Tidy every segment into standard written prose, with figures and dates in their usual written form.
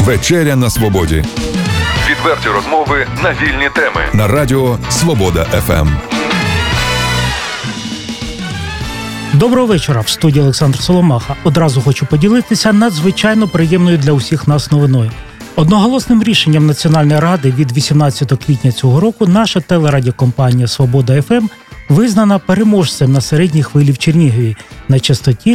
Вечеря на свободі. Відверті розмови на вільні теми. На радіо Свобода ФМ. Доброго вечора. В студії Олександр Соломаха. Одразу хочу поділитися надзвичайно приємною для усіх нас новиною. Одноголосним рішенням Національної ради від 18 квітня цього року наша телерадіокомпанія «Свобода ФМ» визнана переможцем на середній хвилі в Чернігові на частоті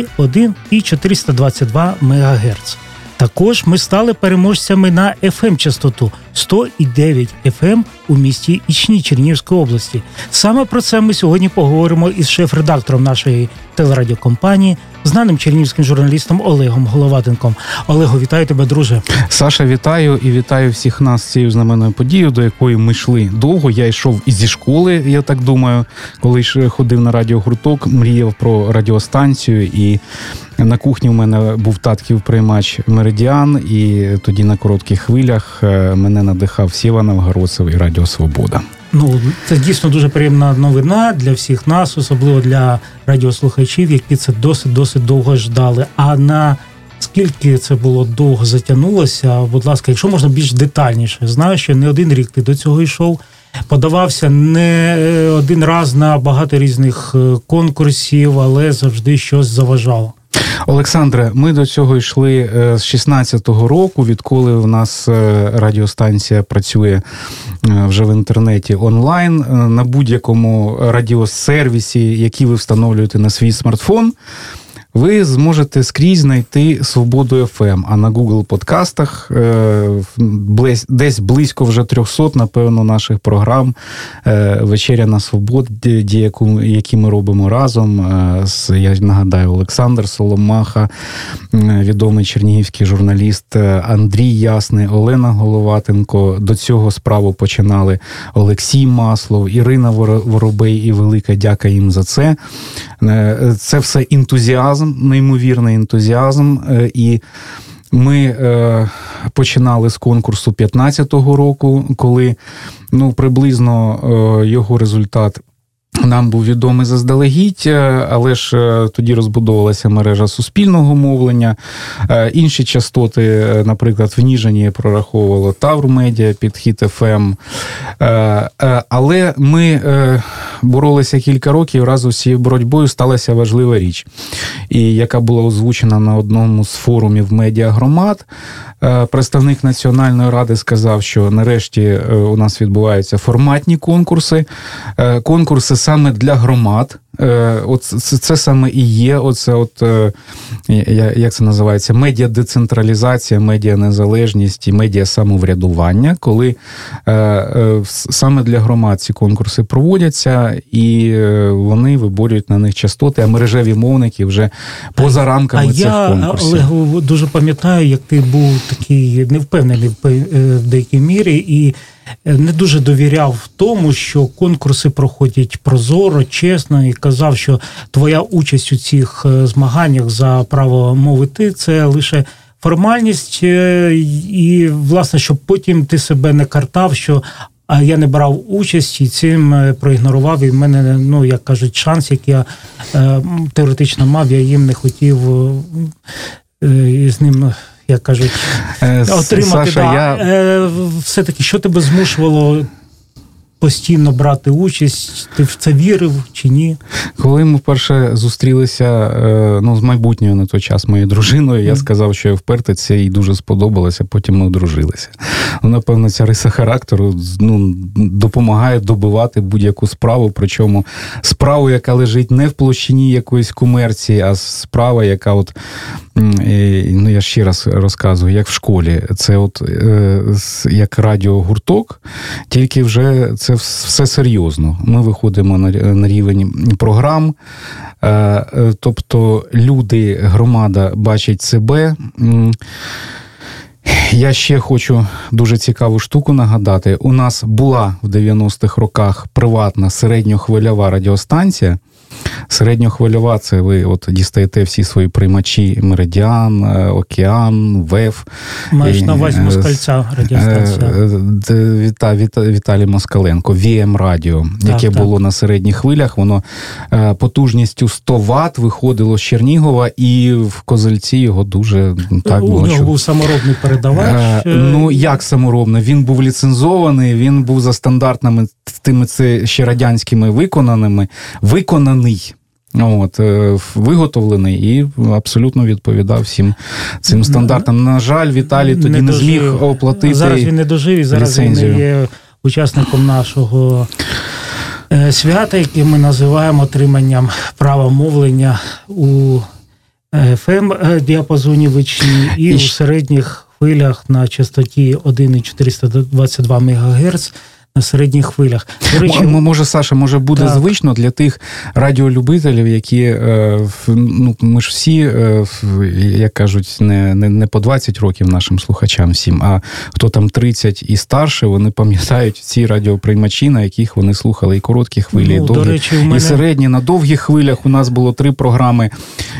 1,422 МГц. Також ми стали переможцями на FM-частоту 100,9 FM у місті Ічні Чернігівської області. Саме про це ми сьогодні поговоримо із шеф-редактором нашої телерадіокомпанії, знаним чернігівським журналістом Олегом Головатенком. Олего, вітаю тебе, друже. Саша, вітаю і вітаю всіх нас з цією знаменною подією, до якої ми йшли довго. Я йшов і зі школи, я так думаю, коли ходив на радіогурток, мріяв про радіостанцію, і на кухні у мене був татків приймач «Меридіан», і тоді на коротких хвилях мене надихав Сєва Новгородцев і Радіо Свобода. Ну, це дійсно дуже приємна новина для всіх нас, особливо для радіослухачів, які це досить довго ждали. А на скільки це було довго затягнулося, будь ласка, якщо можна більш детальніше. Знаю, що не один рік ти до цього йшов, подавався не один раз на багато різних конкурсів, але завжди щось заважало. Олександре, ми до цього йшли з 16-го року, відколи в нас радіостанція працює вже в інтернеті онлайн, на будь-якому радіосервісі, який ви встановлюєте на свій смартфон, ви зможете скрізь знайти «Свободу ФМ», а на Google подкастах десь близько вже 300, напевно, наших програм «Вечеря на свободі», які ми робимо разом. Я нагадаю, Олександр Соломаха, відомий чернігівський журналіст, Андрій Ясний, Олена Головатенко. До цього справу починали Олексій Маслов, Ірина Воробей, і велика дяка їм за це. Це все ентузіазм, неймовірний ентузіазм, і ми починали з конкурсу 15-го року, коли приблизно його результат нам був відомий заздалегідь, але ж тоді розбудовувалася мережа суспільного мовлення. Інші частоти, наприклад, в Ніжині прораховувало Тавр Медіа, Підхід ФМ. Але ми боролися кілька років, разом з цією боротьбою сталася важлива річ, і яка була озвучена на одному з форумів медіагромад. Представник Національної ради сказав, що нарешті у нас відбуваються форматні конкурси. Конкурси саме для громад. Це саме і є, як це називається, медіадецентралізація, медіанезалежність і медіасамоврядування, коли саме для громад ці конкурси проводяться, і вони виборюють на них частоти, а мережеві мовники вже поза рамками цих конкурсів. Я, Олег, дуже пам'ятаю, як ти був такий невпевнений в деякій мірі, і не дуже довіряв в тому, що конкурси проходять прозоро, чесно, і казав, що твоя участь у цих змаганнях за право мовити – це лише формальність, і, власне, щоб потім ти себе не картав, що я не брав участь і цим проігнорував, і в мене, як кажуть, шанс, який я теоретично мав, я їм не хотів з ним, як кажуть, отримати. Саша, все-таки, що тебе змушувало постійно брати участь? Ти в це вірив чи ні? Коли ми вперше зустрілися з майбутньою на той час моєю дружиною, я сказав, що я впертий, це їй дуже сподобалося, потім ми одружилися. Напевно, ця риса характеру допомагає добивати будь-яку справу, причому справу, яка лежить не в площині якоїсь комерції, а справа, яка я ще раз розказую, як в школі. Це як радіогурток, тільки вже це все серйозно. Ми виходимо на рівень програм, тобто люди, громада бачать себе. Я ще хочу дуже цікаву штуку нагадати. У нас була в 90-х роках приватна середньохвильова радіостанція, Середньохвильова – це ви от дістаєте всі свої приймачі Меридіан, Океан, ВЕФ. Маєш на увазі Москальця радіостанція. Віталій Москаленко, ВМ Радіо, яке було на середніх хвилях. Воно потужністю 100 Вт виходило з Чернігова, і в Козельці його дуже так було. У нього був саморобний передавач. Ну, як саморобний? Він був ліцензований, він був за стандартними тими ще радянськими виконаний. Виготовлений і абсолютно відповідав всім цим стандартам. На жаль, Віталій тоді не зміг оплатити ліцензію. Зараз він не дожив, і зараз він не є учасником нашого свята, яке ми називаємо отриманням права мовлення у FM-діапазоні вичні і у середніх хвилях на частоті 1,422 МГц на середніх хвилях. До речі, може, Саша, буде звично для тих радіолюбителів, які, ми ж всі, як кажуть, не по 20 років нашим слухачам всім, а хто там 30 і старше, вони пам'ятають ці радіоприймачі, на яких вони слухали і короткі хвилі, і довгі, і середні. На довгих хвилях у нас було 3 програми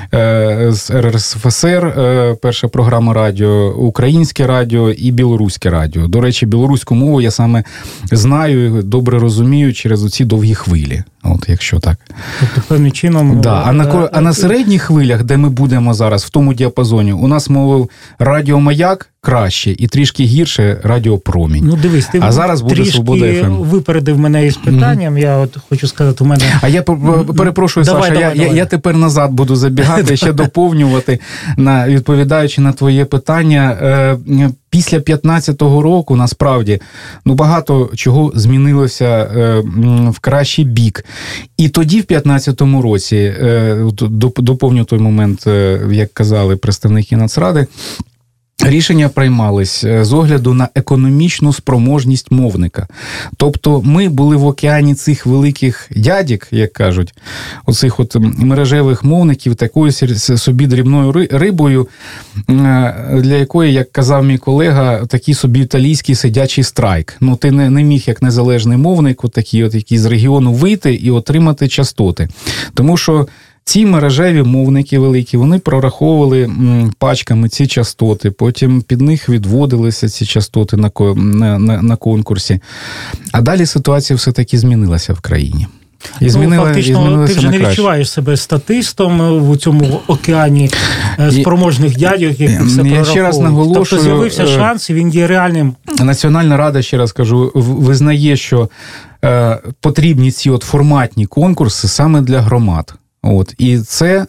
з РСФСР, перша програма радіо, українське радіо і білоруське радіо. До речі, білоруську мову я саме знаю, добре розумію через оці довгі хвилі. От, якщо так. Тобто, певним чином... Да. А на середніх хвилях, де ми будемо зараз, в тому діапазоні, у нас мовив радіомаяк краще і трішки гірше радіопромінь. Ну, дивись, ти зараз буде Свобода ФМ. Випередив мене із питанням. Я от хочу сказати, у мене... А я перепрошую, Саша, я тепер назад буду забігати, ще доповнювати, відповідаючи на твоє питання. Після 15-го року, насправді, багато чого змінилося в кращий бік. І тоді, в 15-му році, доповню той момент, як казали представники Нацради, рішення приймались з огляду на економічну спроможність мовника. Тобто ми були в океані цих великих дядік, як кажуть, оцих от мережевих мовників, такою собі дрібною рибою, для якої, як казав мій колега, такий собі італійський сидячий страйк. Ти не міг, як незалежний мовник, який з регіону вийти і отримати частоти. Тому що ці мережеві мовники великі, вони прораховували пачками ці частоти, потім під них відводилися ці частоти на конкурсі. А далі ситуація все-таки змінилася в країні. Фактично, ти вже не відчуваєш себе статистом в цьому океані спроможних дядьок, які все прораховують. Ще раз наголошую, тобто з'явився шанс, і він є реальним. Національна рада, ще раз кажу, визнає, що потрібні ці форматні конкурси саме для громад. І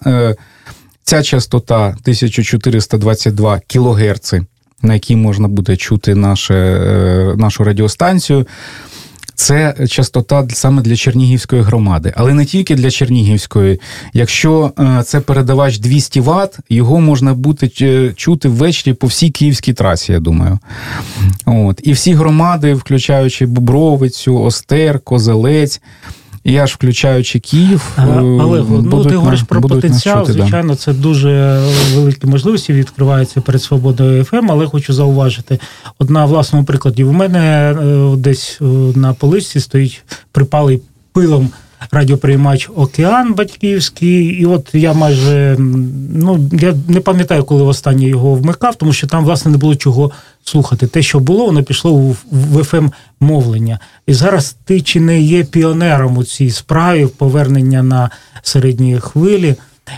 ця частота 1422 кГц, на якій можна буде чути нашу радіостанцію, це частота саме для Чернігівської громади. Але не тільки для Чернігівської. Якщо це передавач 200 Вт, його можна буде чути ввечері по всій київській трасі, я думаю. І всі громади, включаючи Бобровицю, Остер, Козелець, і аж включаючи Київ, але ти говориш про потенціал, звичайно, це дуже великі можливості відкриваються перед Свободою ФМ, але хочу зауважити, на власному прикладі, у мене десь на поличці стоїть припалий пилом радіоприймач «Океан» батьківський, і от я майже, я не пам'ятаю, коли востаннє його вмикав, тому що там, власне, не було чого слухати. Те, що було, воно пішло в FM-мовлення. І зараз ти чи не є піонером у цій справі повернення на середні хвилі?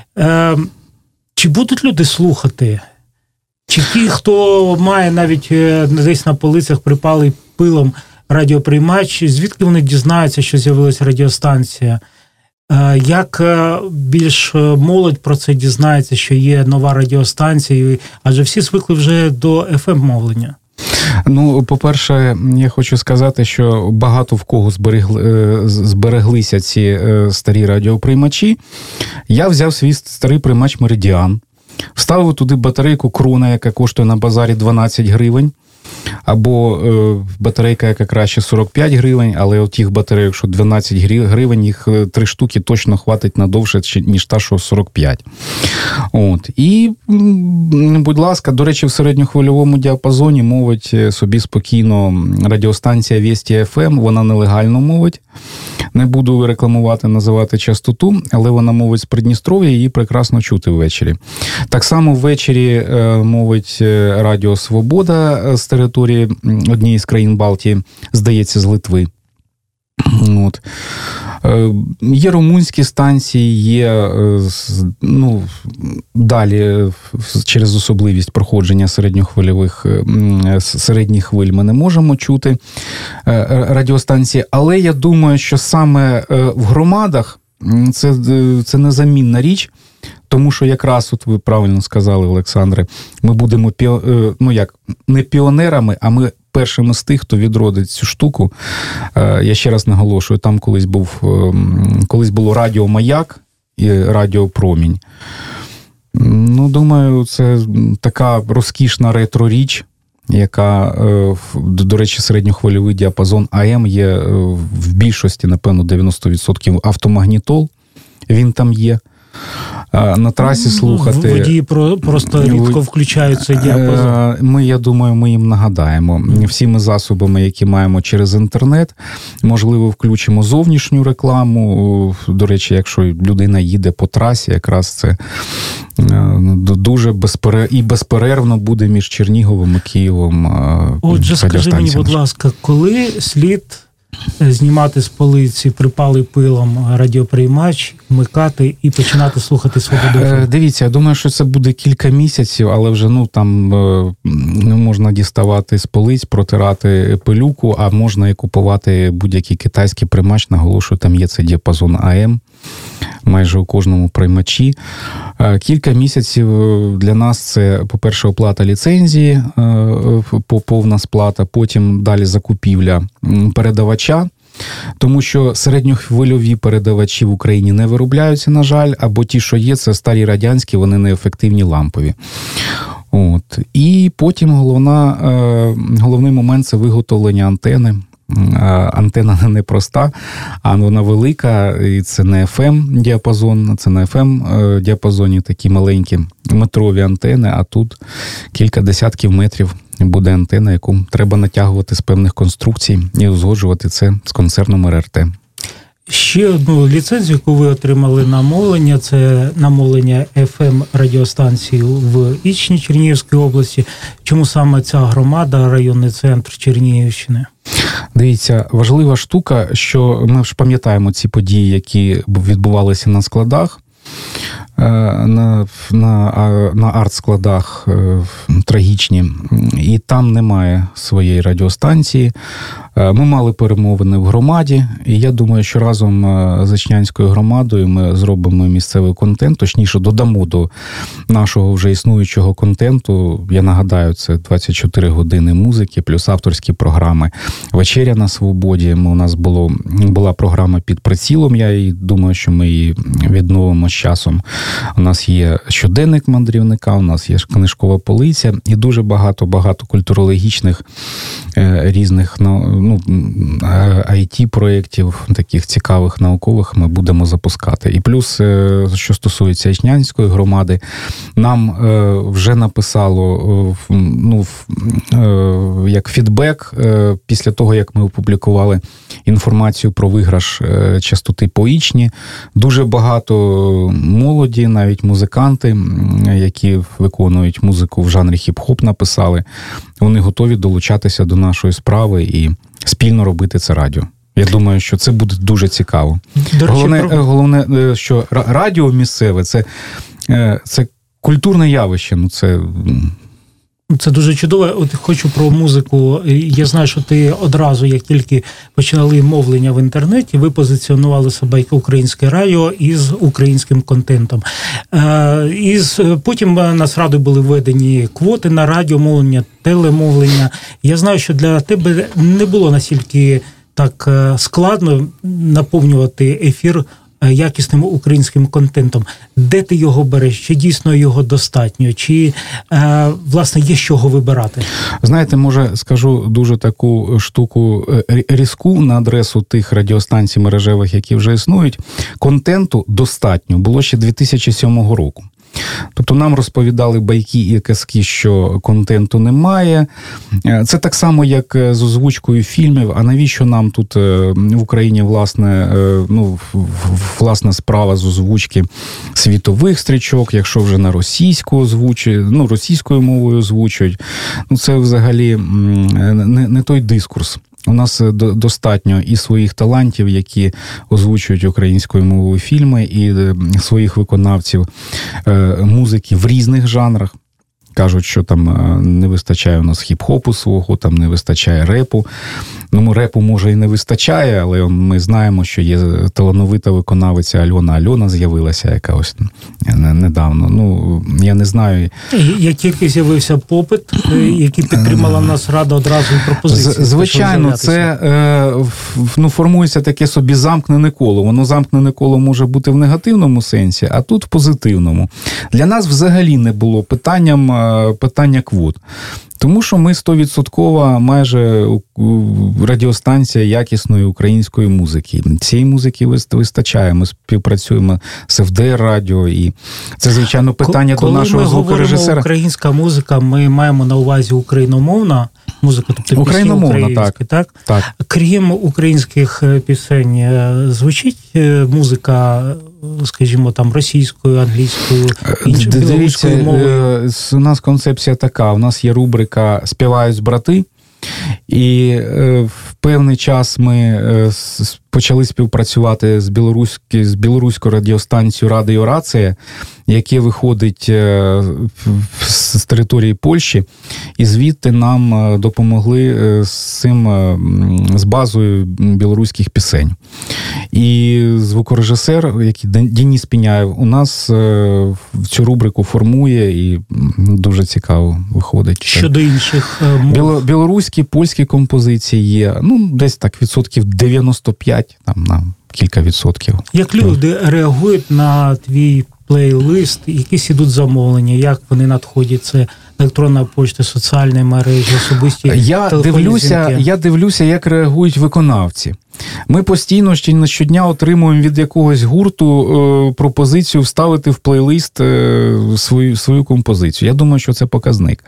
Чи будуть люди слухати? Чи ті, хто має навіть десь на полицях припалий пилом радіоприймач, звідки вони дізнаються, що з'явилася радіостанція? Як більш молодь про це дізнається, що є нова радіостанція? Адже всі звикли вже до FM-мовлення. По-перше, я хочу сказати, що багато в кого збереглися ці старі радіоприймачі. Я взяв свій старий приймач «Меридіан», вставив туди батарейку «Крона», яка коштує на базарі 12 гривень. Або батарейка, яка краще 45 гривень, але от тих батарейок, що 12 гривень, їх 3 штуки точно хватить надовше, ніж та, що 45. І, будь ласка, до речі, в середньохвильовому діапазоні мовить собі спокійно радіостанція Вєсті ФМ, вона нелегально мовить. Не буду рекламувати, називати частоту, але вона мовить з Придністров'я, її прекрасно чути ввечері. Так само ввечері мовить Радіо Свобода з території однієї з країн Балтії, здається, з Литви. От. Є румунські станції, є далі через особливість проходження середніх хвиль ми не можемо чути радіостанції, але я думаю, що саме в громадах це незамінна річ, тому що якраз, от ви правильно сказали, Олександре, ми будемо не піонерами, а ми першими з тих, хто відродить цю штуку. Я ще раз наголошую, там колись було Радіо Маяк і Радіо Промінь. Думаю, це така розкішна ретро-річ, яка, до речі, середньохвильовий діапазон АМ є в більшості, напевно, 90% автомагнітол, він там є. На трасі слухати. Водії просто рідко включають цей діапазон. Я думаю, ми їм нагадаємо. Всіми засобами, які маємо через інтернет, можливо, включимо зовнішню рекламу. До речі, якщо людина їде по трасі, якраз це дуже безперервно буде між Черніговом і Києвом. Отже, скажи мені, будь ласка, коли слід знімати з полиці припалий пилом радіоприймач, вмикати і починати слухати «Свободу»? Дивіться, я думаю, що це буде кілька місяців, але вже можна діставати з полиць, протирати пилюку, а можна і купувати будь-який китайський приймач. Наголошую, там є цей діапазон АМ майже у кожному приймачі. Кілька місяців для нас це, по-перше, оплата ліцензії, повна сплата, потім далі закупівля передавача, тому що середньохвильові передавачі в Україні не виробляються, на жаль, або ті, що є, це старі радянські, вони неефективні, лампові. От. І потім головний момент – це виготовлення антени. Антена не проста, а вона велика, і це не FM-діапазон, це не FM-діапазоні такі маленькі метрові антени, а тут кілька десятків метрів буде антена, яку треба натягувати з певних конструкцій і узгоджувати це з концерном РРТ. Ще одну ліцензію, яку ви отримали на мовлення, це на мовлення FM-радіостанції в Ічні Чернігівської області. Чому саме ця громада, районний центр Чернігівщини? Дивіться, важлива штука, що ми ж пам'ятаємо ці події, які відбувалися на складах, на арт-складах трагічні, і там немає своєї радіостанції. Ми мали перемовини в громаді, і я думаю, що разом з Ічнянською громадою ми зробимо місцевий контент, точніше додамо до нашого вже існуючого контенту. Я нагадаю, це 24 години музики, плюс авторські програми. «Вечеря на свободі». У нас була програма «Під прицілом», я думаю, що ми її відновимо з часом. У нас є щоденник мандрівника, у нас є книжкова полиця і дуже багато культурологічних різних IT-проєктів, таких цікавих, наукових ми будемо запускати. І плюс, що стосується Ічнянської громади, нам вже написало як фідбек після того, як ми опублікували інформацію про виграш частоти по Ічні. Дуже багато молоді, навіть музиканти, які виконують музику в жанрі хіп-хоп, написали. Вони готові долучатися до нашої справи і спільно робити це радіо. Я думаю, що це буде дуже цікаво. Головне, що радіо місцеве – це культурне явище. Це дуже чудово. От хочу про музику. Я знаю, що ти одразу, як тільки починали мовлення в інтернеті, ви позиціонували себе як українське радіо із українським контентом. Потім Нацрадою були введені квоти на радіомовлення, телемовлення. Я знаю, що для тебе не було настільки так складно наповнювати ефір якісним українським контентом. Де ти його береш? Чи дійсно його достатньо? Чи, власне, є з чого вибирати? Знаєте, може, скажу дуже таку штуку різку на адресу тих радіостанцій мережевих, які вже існують. Контенту достатньо було ще 2007 року. Тобто нам розповідали байки і казки, що контенту немає. Це так само, як з озвучкою фільмів. А навіщо нам тут в Україні, власна справа з озвучки світових стрічок, якщо вже на російською мовою озвучують. Це взагалі не той дискурс. У нас достатньо і своїх талантів, які озвучують українською мовою фільми, і своїх виконавців музики в різних жанрах. Кажуть, що там не вистачає у нас хіп-хопу свого, там не вистачає репу. Репу, може, і не вистачає, але ми знаємо, що є талановита виконавиця Альона з'явилася, яка ось недавно. Я не знаю. Як тільки з'явився попит, який підтримала нас Рада одразу і пропозиції. Звичайно, це формується таке собі замкнене коло. Воно замкнене коло може бути в негативному сенсі, а тут в позитивному. Для нас взагалі не було питання квот. Тому що ми 100% майже радіостанція якісної української музики. Цієї музики вистачає. Ми співпрацюємо з ФДР радіо, і це, звичайно, питання до нашого звукорежисера. Коли ми говоримо українська музика, ми маємо на увазі україномовна музика, тобто пісні українські, так? Так. Крім українських пісень, звучить музика, скажімо, там російською, англійською, іншою білоруською мовою? У нас концепція така, у нас є рубрика «Співають брати», і в певний час ми почали співпрацювати з білоруською радіостанцією «Радіо Рація», яке виходить з території Польщі, і звідти нам допомогли з базою білоруських пісень. І звукорежисер, який Денис Піняєв, у нас цю рубрику формує, і дуже цікаво виходить. Щодо інших мов? Білоруські, польські композиції є, десь так 95%, там на кілька відсотків. Як люди реагують на твій плейлист, якісь ідуть замовлення, як вони надходять? Це електронна пошта, соціальні мережі, особисті Я дивлюся, як реагують виконавці. Ми постійно щодня отримуємо від якогось гурту пропозицію вставити в плейлист свою композицію. Я думаю, що це показник.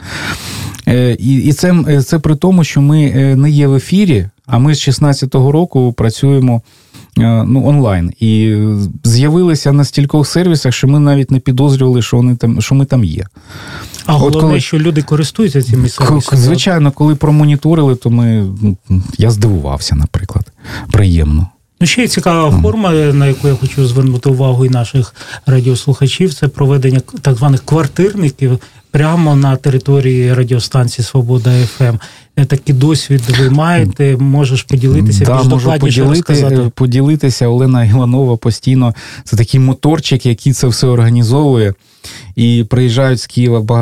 І це при тому, що ми не є в ефірі, а ми з 16-го року працюємо онлайн. І з'явилися на стількох сервісах, що ми навіть не підозрювали, що ми там є. А головне, що люди користуються цими сервісами? Звичайно, коли промоніторили, то я здивувався, наприклад. Приємно. Ще є цікава форма, на яку я хочу звернути увагу і наших радіослухачів, це проведення так званих квартирників прямо на території радіостанції «Свобода ФМ». Такий досвід ви маєте, можеш поділитися, більш докладніше розказати? Поділитися. Олена Іванова постійно, це такий моторчик, який це все організовує. І приїжджають з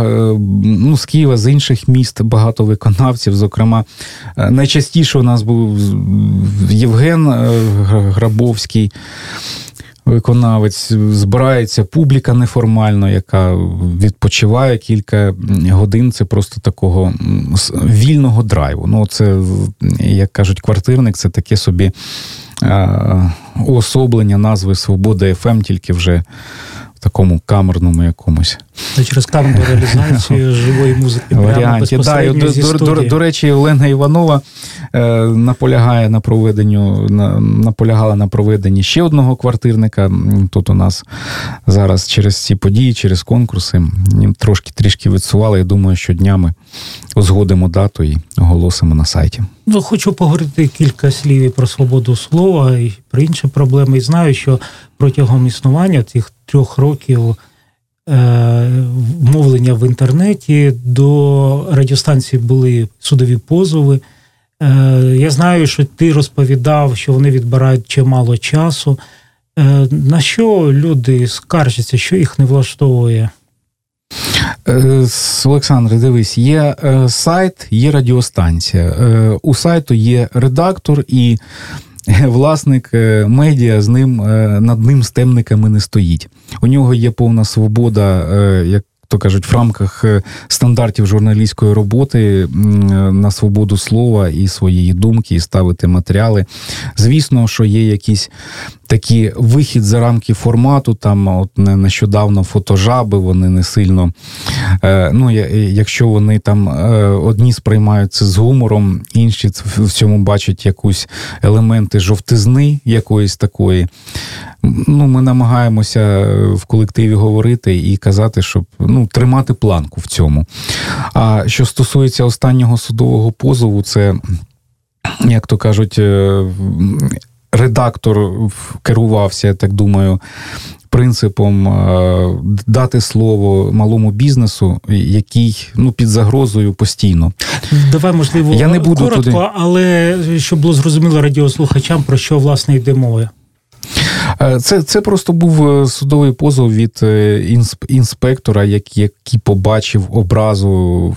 Києва, з інших міст багато виконавців. Зокрема, найчастіше у нас був Євген Грабовський, виконавець. Збирається публіка неформально, яка відпочиває кілька годин. Це просто такого вільного драйву. Це, як кажуть, квартирник, це таке собі уособлення назви «Свобода ФМ», тільки вже в такому камерному якомусь. Через камерну реалізацію живої музики прямо безпосередньо зі студії. До речі, Олена Іванова наполягала на проведенні ще одного квартирника. Тут у нас зараз через ці події, через конкурси, трішки відсували. Я думаю, що днями узгодимо дату і оголосимо на сайті. Хочу поговорити кілька слів і про свободу слова, і про інші проблеми. І знаю, що протягом існування цих 3 років мовлення в інтернеті до радіостанції були судові позови. Я знаю, що ти розповідав, що вони відбирають чимало часу. На що люди скаржаться, що їх не влаштовує? Олександре, дивись, є сайт, є радіостанція. У сайту є редактор і власник медіа, над ним з темниками не стоїть. У нього є повна свобода, як то кажуть, в рамках стандартів журналістської роботи на свободу слова і своєї думки, і ставити матеріали. Звісно, що є якісь такі вихід за рамки формату, там от нещодавно фотожаби, вони не сильно, якщо вони там одні сприймають це з гумором, інші в цьому бачать якусь елементи жовтизни якоїсь такої. Ми намагаємося в колективі говорити і казати, щоб тримати планку в цьому. А що стосується останнього судового позову, це, як то кажуть, редактор керувався, я так думаю, принципом дати слово малому бізнесу, який під загрозою постійно. Давай, можливо, я не буду коротко, але щоб було зрозуміло радіослухачам, про що, власне, йде мова. Це просто був судовий позов від інспектора, який побачив образу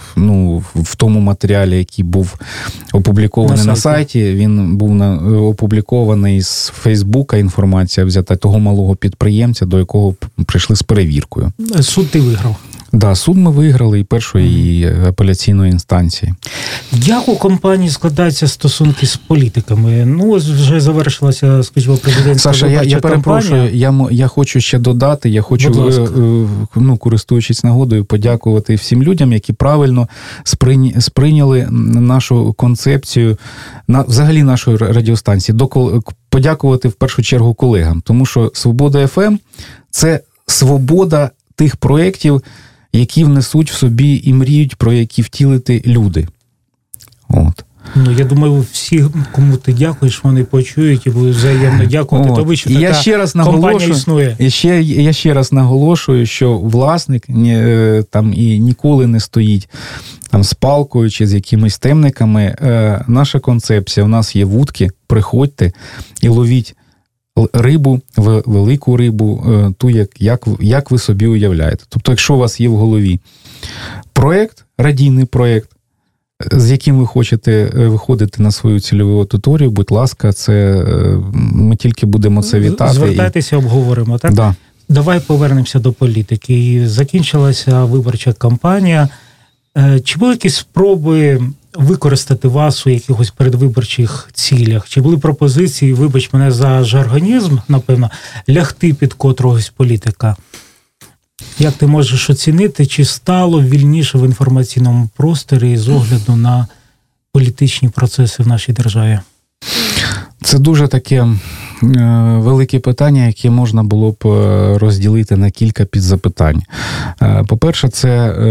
в тому матеріалі, який був опублікований на сайті. Він був опублікований з Фейсбука, інформація взята того малого підприємця, до якого прийшли з перевіркою. Суд ти виграв? Да, суд ми виграли і першої, і апеляційної інстанції. Як у компанії складаються стосунки з політиками? Ось вже завершилася, скажімо, президентська виборча кампанія. Саша, я перепрошую, я хочу ще додати, я хочу, користуючись нагодою, подякувати всім людям, які правильно сприйняли нашу концепцію, взагалі нашої радіостанції. Подякувати в першу чергу колегам, тому що «Свобода ФМ» – це свобода тих проєктів, які внесуть в собі і мріють, про які втілити люди. От. Я думаю, всі, кому ти дякуєш, вони почують і будуть взаємно дякувати. Тобі, що така компанія існує. Я ще раз наголошую, що власник там і ніколи не стоїть там з палкою чи з якимись темниками. Наша концепція, у нас є вудки, приходьте і ловіть рибу, велику рибу, ту, як ви собі уявляєте. Тобто, якщо у вас є в голові проєкт, радійний проєкт, з яким ви хочете виходити на свою цільову аудиторію, будь ласка, ми тільки будемо це вітати. Звертайтеся, обговоримо, так? Да. Давай повернемося до політики. Закінчилася виборча кампанія. Чи були якісь спроби використати вас у якихось передвиборчих цілях? Чи були пропозиції, вибач мене за жаргонізм, напевно, лягти під котрогось політика? Як ти можеш оцінити, чи стало вільніше в інформаційному просторі з огляду на політичні процеси в нашій державі? Це дуже таке велике питання, яке можна було б розділити на кілька підзапитань. По-перше, це,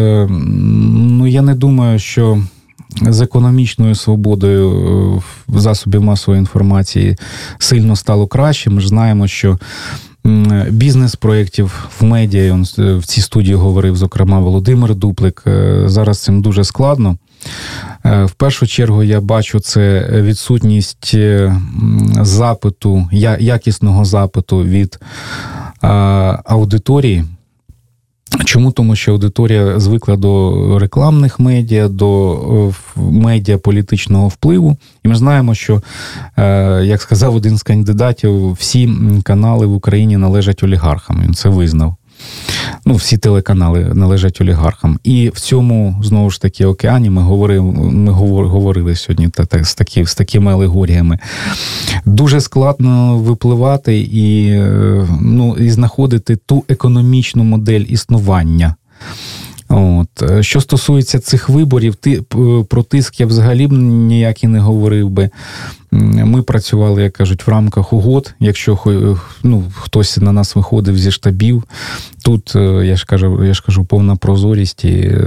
я не думаю, що з економічною свободою засобів масової інформації сильно стало краще. Ми ж знаємо, що бізнес-проєктів в медіа, в цій студії говорив, зокрема, Володимир Дуплик, зараз цим дуже складно. В першу чергу я бачу це відсутність запиту, якісного запиту від аудиторії. Чому? Тому що аудиторія звикла до рекламних медіа, до медіа політичного впливу. І ми знаємо, що, як сказав один з кандидатів, всі канали в Україні належать олігархам. Він це визнав. Всі телеканали належать олігархам. І в цьому, знову ж таки, океані ми говорили сьогодні з такими алегоріями. Дуже складно випливати і знаходити ту економічну модель існування. Що стосується цих виборів, про тиск я взагалі ніяк і не говорив би. Ми працювали, як кажуть, в рамках угод. Якщо хтось на нас виходив зі штабів, тут, я ж кажу, повна прозорість.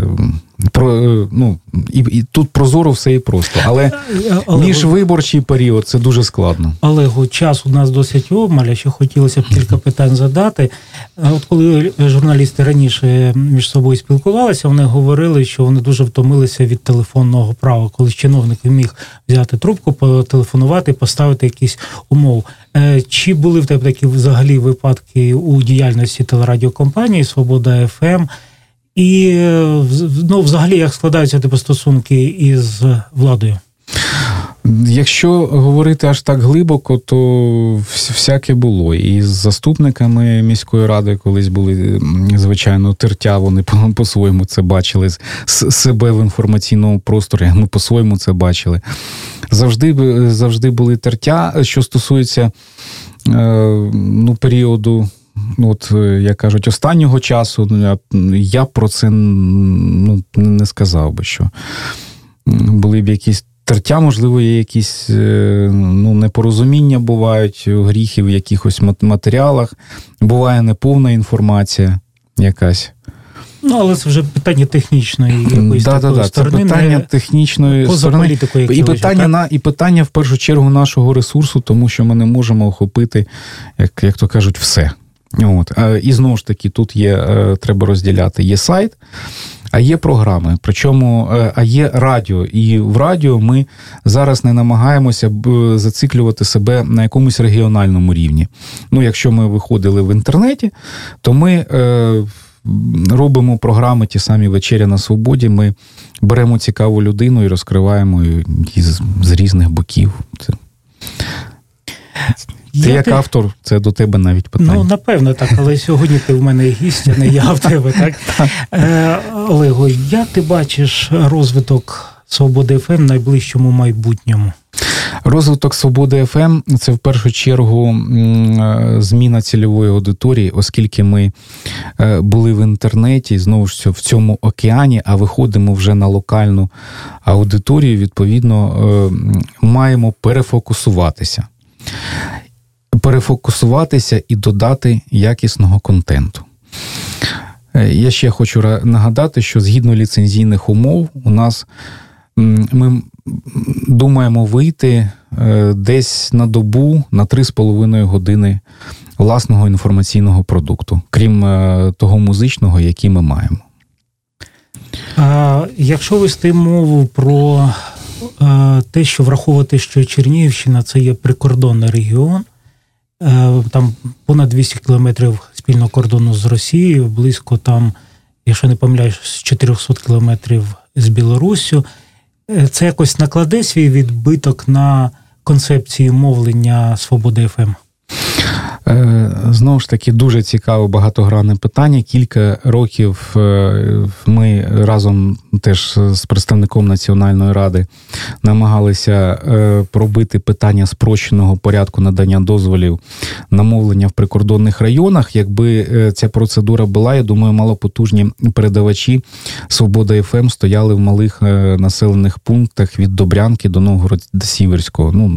І тут прозоро все і просто. Але міжвиборчий період – це дуже складно. Олегу, час у нас досить обмаль, ще хотілося б кілька питань задати. От коли журналісти раніше між собою спілкувалися, вони говорили, що вони дуже втомилися від телефонного права, коли чиновник міг взяти трубку, потелефонувати, поставити якісь умови. Чи були в тебе такі взагалі випадки у діяльності телерадіокомпанії «Свобода ФМ»? І, взагалі, як складаються тебе стосунки із владою? Якщо говорити аж так глибоко, то всяке було. І з заступниками міської ради колись були, звичайно, тертя, вони по-своєму це бачили, себе в інформаційному просторі, ми по-своєму це бачили. Завжди були тертя. Що стосується періоду, як кажуть, останнього часу, я про це не сказав би, що були б якісь тертя, можливо, є якісь непорозуміння бувають, гріхи в якихось матеріалах, буває неповна інформація якась. Але це вже питання технічної якоїсь такої сторони. Це питання технічної сторони. І питання, в першу чергу, нашого ресурсу, тому що ми не можемо охопити, як то кажуть, все. І знову ж таки, тут треба розділяти. Є сайт, а є програми, причому є радіо. І в радіо ми зараз не намагаємося зациклювати себе на якомусь регіональному рівні. Якщо ми виходили в інтернеті, то ми робимо програми ті самі «Вечеря на свободі», ми беремо цікаву людину і розкриваємо її з різних боків. Ти як автор, це до тебе навіть питання. Напевно, так, але сьогодні ти в мене гість, а не я в тебе, так? Олего, як ти бачиш розвиток «Свободи ФМ» в найближчому майбутньому? Розвиток «Свободи ФМ» – це в першу чергу зміна цільової аудиторії, оскільки ми були в інтернеті, знову ж в цьому океані, а виходимо вже на локальну аудиторію, відповідно, маємо перефокусуватися і додати якісного контенту. Я ще хочу нагадати, що згідно ліцензійних умов у нас ми думаємо вийти десь на добу на 3,5 години власного інформаційного продукту, крім того музичного, який ми маємо. Якщо вести мову про те, що враховувати, що Чернігівщина – це є прикордонний регіон, там понад 200 кілометрів спільного кордону з Росією, близько там, якщо не помиляюсь, 400 кілометрів з Білоруссю. Це якось накладе свій відбиток на концепцію мовлення «Свободи ФМ»? Знову ж таки, дуже цікаве багатогранне питання. Кілька років ми разом теж з представником Національної ради намагалися пробити питання спрощеного порядку надання дозволів на мовлення в прикордонних районах. Якби ця процедура була, я думаю, малопотужні передавачі «Свобода ФМ» стояли в малих населених пунктах від Добрянки до Новгород-Сіверського.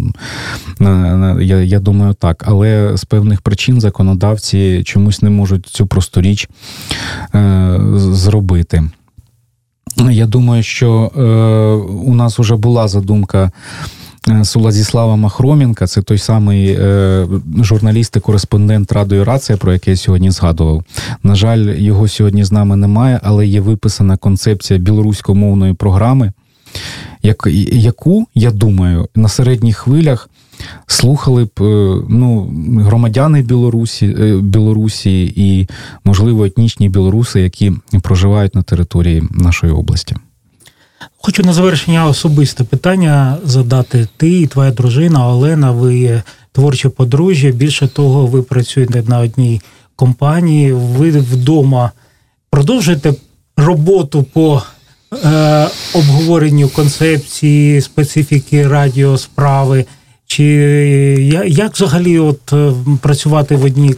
Я думаю, так. Але з певних причин законодавці чомусь не можуть цю просту річ зробити. Я думаю, що у нас вже була задумка Владислава Махроменка, це той самий журналіст і кореспондент Радіо Рація, про який я сьогодні згадував. На жаль, його сьогодні з нами немає, але є виписана концепція білоруськомовної програми, яку, я думаю, на середніх хвилях слухали б громадяни Білорусі і, можливо, етнічні білоруси, які проживають на території нашої області. Хочу на завершення особисте питання задати. Ти і твоя дружина Олена, ви творче подружжя. Більше того, ви працюєте на одній компанії. Ви вдома продовжуєте роботу по обговоренню концепції, специфіки радіосправи? Чи як взагалі працювати в одній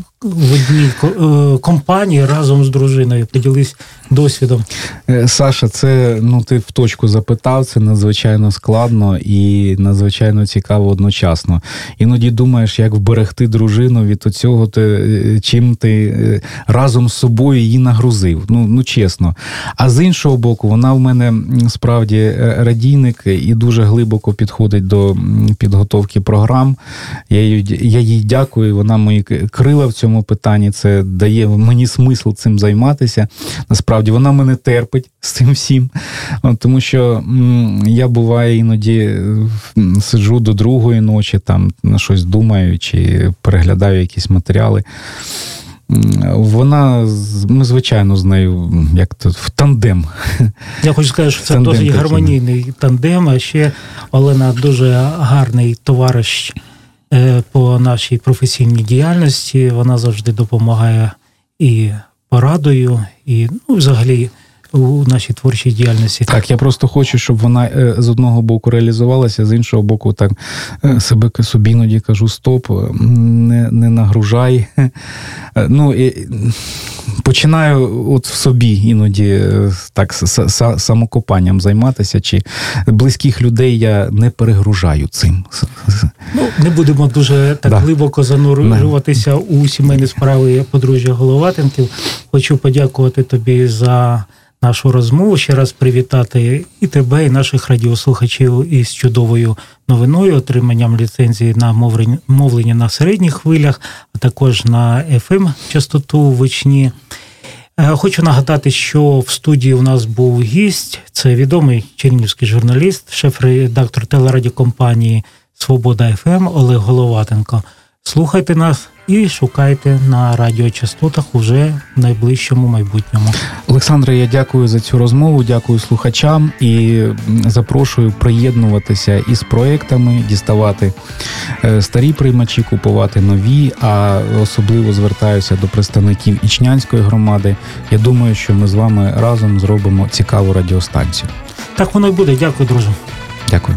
компанії разом з дружиною? Поділись досвідом. Саша, це, ти в точку запитав, це надзвичайно складно і надзвичайно цікаво одночасно. Іноді думаєш, як вберегти дружину від цього, чим ти разом з собою її нагрузив. Чесно. А з іншого боку, вона в мене справді радійник і дуже глибоко підходить до підготовки програм. Я їй дякую, вона мої крила в цьому питанні, це дає мені смисл цим займатися. Насправді, вона мене терпить з цим всім, тому що я, буває, іноді сиджу до 2-ї ночі, там на щось думаю, чи переглядаю якісь матеріали. ми, звичайно, з нею в тандем. Я хочу сказати, що це досить гармонійний тандем, а ще Олена дуже гарний товариш по нашій професійній діяльності. Вона завжди допомагає і порадою, і взагалі у нашій творчій діяльності. Так, я просто хочу, щоб вона з одного боку реалізувалася, з іншого боку, так себе собі іноді кажу, стоп, не нагружай. Починаю от в собі іноді так самокопанням займатися, чи близьких людей я не перегружаю цим. Не будемо дуже так глибоко занурюватися у сімейні справи подружжя Головатенків. Хочу подякувати тобі за нашу розмову, ще раз привітати і тебе, і наших радіослухачів із чудовою новиною, отриманням ліцензії на мовлення на середніх хвилях, а також на FM-частоту в Ічні. Хочу нагадати, що в студії у нас був гість, це відомий чернігівський журналіст, шеф-редактор телерадіокомпанії «Свобода ФМ» Олег Головатенко. Слухайте нас і шукайте на радіочастотах уже в найближчому майбутньому. Олександре, я дякую за цю розмову, дякую слухачам і запрошую приєднуватися із проєктами, діставати старі приймачі, купувати нові, а особливо звертаюся до представників Ічнянської громади. Я думаю, що ми з вами разом зробимо цікаву радіостанцію. Так воно й буде. Дякую, друже. Дякую.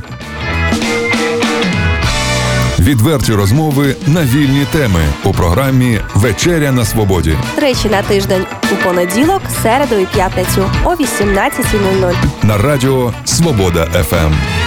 Відверті розмови на вільні теми у програмі «Вечеря на свободі». Тричі на тиждень у понеділок, середу і п'ятницю о 18:00. На радіо «Свобода ФМ».